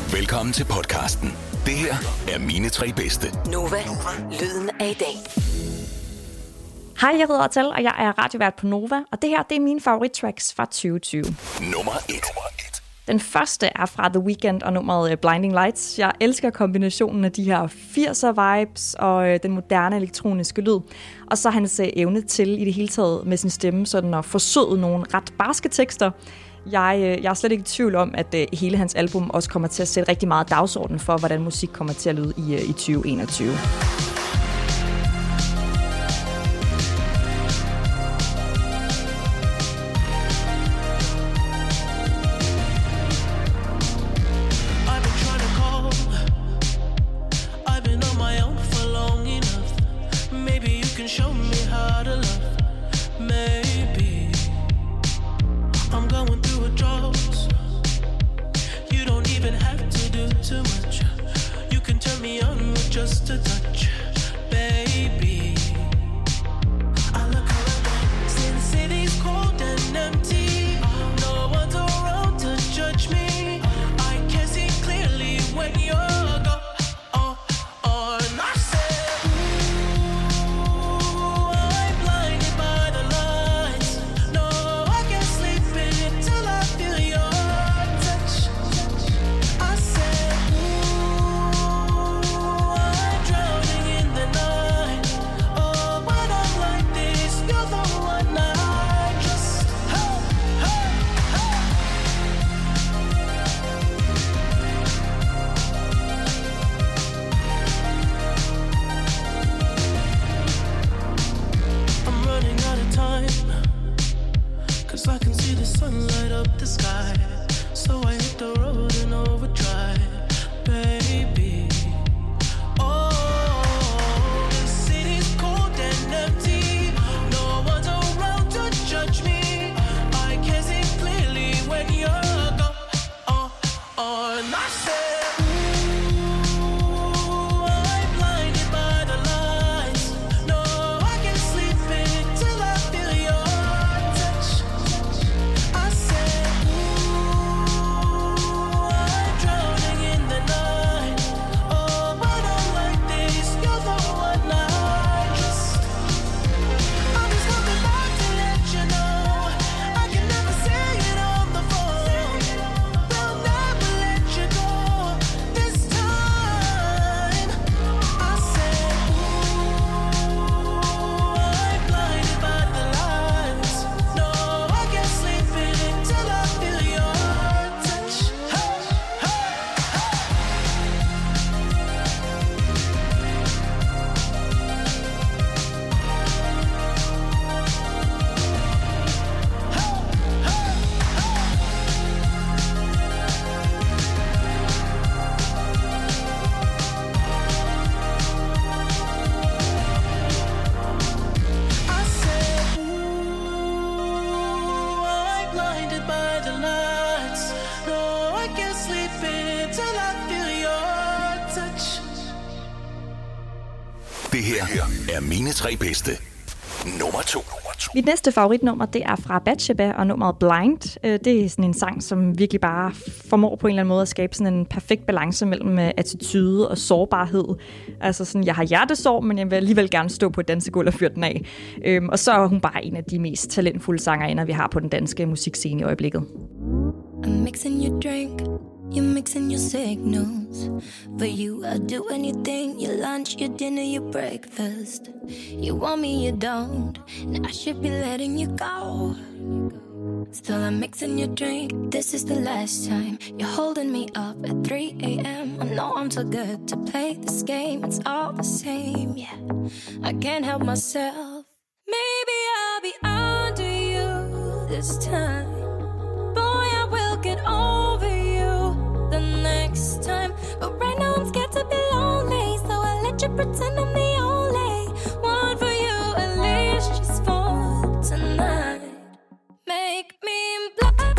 Velkommen til podcasten. Det her er mine 3 bedste. Nova, lyden af i dag. Hej, jeg hedder Atal, og jeg er radiovært på Nova, og det her det er mine favorittracks fra 2020. Nummer 1. Den første er fra The Weeknd og nummeret Blinding Lights. Jeg elsker kombinationen af de her 80'er-vibes og den moderne elektroniske lyd. Og så hans evne til i det hele taget med sin stemme sådan at forsøde nogle ret barske tekster. Jeg er slet ikke i tvivl om, at hele hans album også kommer til at sætte rigtig meget dagsorden for, hvordan musik kommer til at lyde i 2021. Just a touch, baby. I look around, since city's cold and empty. No one's around to judge me. I can see clearly when you're gone. And I said, ooh, I'm blinded by the lights. No, I can't sleep until I feel your touch. I said, I can see the sun light up the sky, so I hit the road in overdrive, baby. Oh, the city's cold and empty. No one's around to judge me. I can see clearly when you're gone. And I said, ooh, I'm blinded by the lights. No, I can't sleep until I feel your touch. I said, ooh, I'm drowning in the night. Oh, when I'm like this, you're the one I just. I'm just coming back to let you know I can never say it on the phone. Will never let you go this time. I said, ooh, I'm blinded by the lights. No, I can't sleep until I feel your touch. Hey, hey, I said, ooh, I'm blinded by the lights. No, I can't sleep until I feel your touch. Det her er mine 3 bedste. Nummer 2. Mit næste favoritnummer, det er fra Bathsheba og nummeret Blind. Det er sådan en sang, som virkelig bare formår på en eller anden måde at skabe sådan en perfekt balance mellem attitude og sårbarhed. Altså sådan, jeg har hjertesorg, men jeg vil alligevel gerne stå på et dansegulv og fyre den af. Og så er hun bare en af de mest talentfulde sangerinder, vi har på den danske musikscene i øjeblikket. I'm mixing your drink, you're mixing your signals. For you, I'll do anything, your lunch, your dinner, your breakfast. You want me, you don't, and I should be letting you go. Still I'm mixing your drink, this is the last time. You're holding me up at 3 a.m. I know I'm so good to play this game, it's all the same, yeah. I can't help myself. Maybe I'll be under you this time. Boy, I will get over you the next time. But right now I'm scared to be lonely, so I let you pretend I'm the only one for you, at least just for tonight. Make me blind.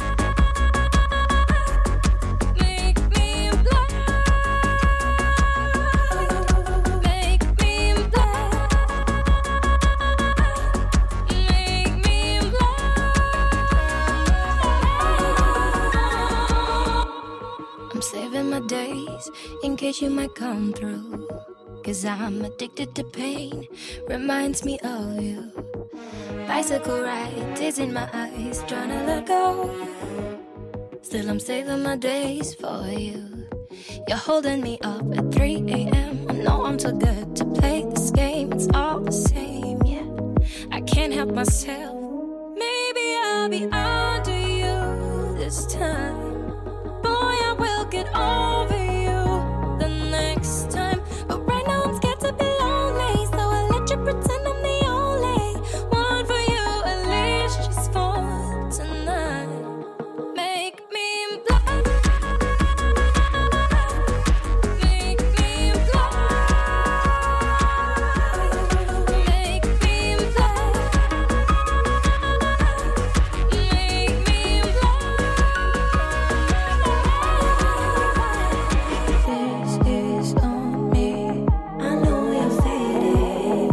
Make me blind. Make me blind. Make me blind. I'm saving my days in case you might come through. 'Cause I'm addicted to pain, reminds me of you. Bicycle ride, tears in my eyes, trying to let go. Still I'm saving my days for you. You're holding me up at 3 a.m. I know I'm too good to play this game. It's all the same, yeah. I can't help myself. Maybe I'll be under you this time. Boy, I will get over you the next time. But right now I'm scared to be lonely, so I'll let you pretend I'm the only one for you, at least just for tonight. Make me blind. Make me blind. Make me blind. Make me blind. This is on me. I know you're fading.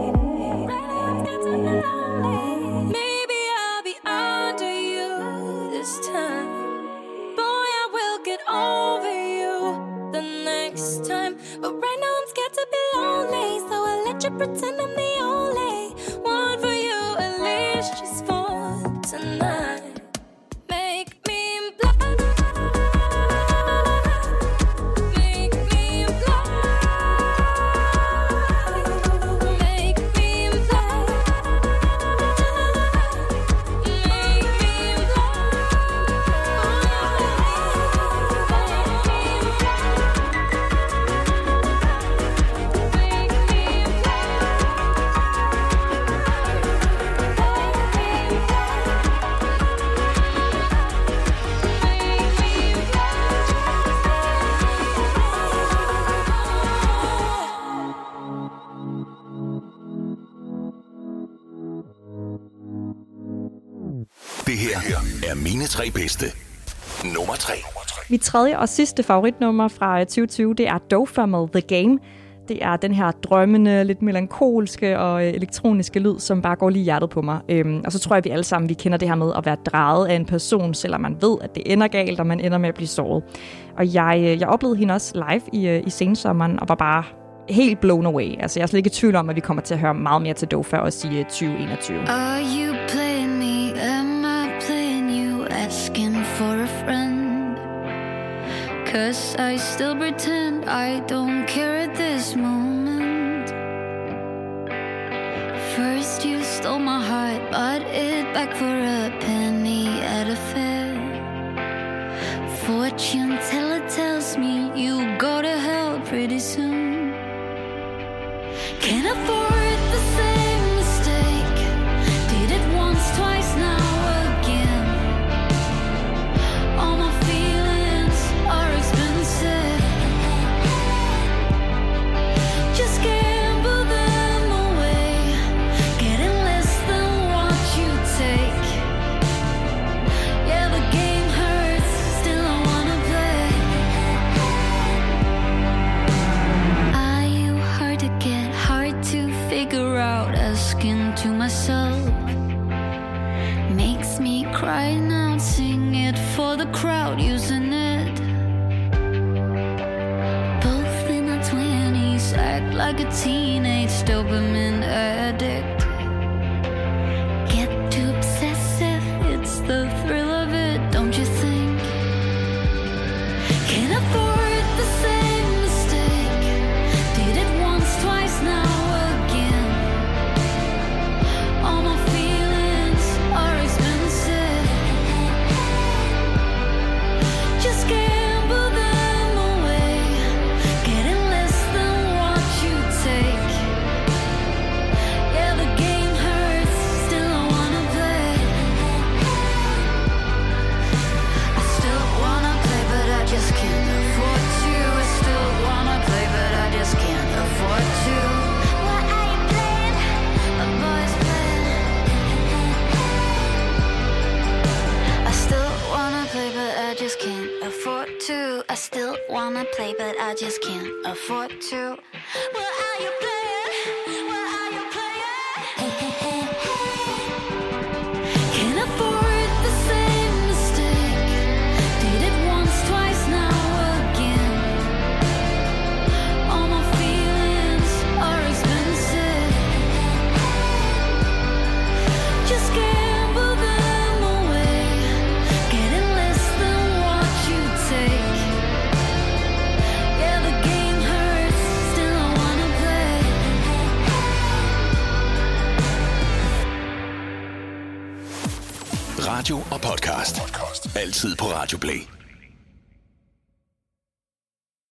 Maybe I'll be under you this time. Boy, I will get over you the next time. But right now I'm scared to be lonely, so I'll let you pretend I'm the only one for you, at least just for tonight. Make me blind. Make me blind. Make me blind. Make me Det her er mine 3 bedste. Nummer 3. Mit tredje og sidste favoritnummer fra 2020, det er Dofa med The Game. Det er den her drømmende, lidt melankolske og elektroniske lyd, som bare går lige hjertet på mig. Og så tror jeg, vi alle sammen vi kender det her med at være draget af en person, selvom man ved, at det ender galt, og man ender med at blive såret. Og jeg oplevede hende også live i sensommeren, og var bare helt blown away. Altså, jeg er slet ikke i tvivl om, at vi kommer til at høre meget mere til Dofa også i 2021. Are you playing me? Am I playing you? Asking for a friend. 'Cause I still pretend I don't care at this moment. First you stole my heart, bought it back for a penny at a fair. Fortune teller tells me you go to hell pretty soon. Can't afford the same mistake. Did it once, twice, now again. All my feelings are expensive. Just gamble them away, getting less than what you take. Yeah, the game hurts, still I wanna play. Are you hard to get, hard to figure out? Asking to myself makes me cry now. Sing it for the crowd, using it. Both in our 20s, act like a teenage dopamine addict. Get too obsessive, it's the thrill of it, don't you think? Can't afford the same mistake. Did it once, twice, now again. All my feelings are expensive. Just gamble them away, getting less than what you take. Yeah, the game hurts, still I wanna play. I still wanna play, but I just can't afford to. I still wanna play, but I just can't afford to. What are you playing? A boy's playing. I still wanna play, but I just can't afford to. I still wanna play, but I just can't afford to. What are you playing? What are you playing? Can't afford the same mistake. Did it once, twice, now radio og podcast. Altid på Radio Play.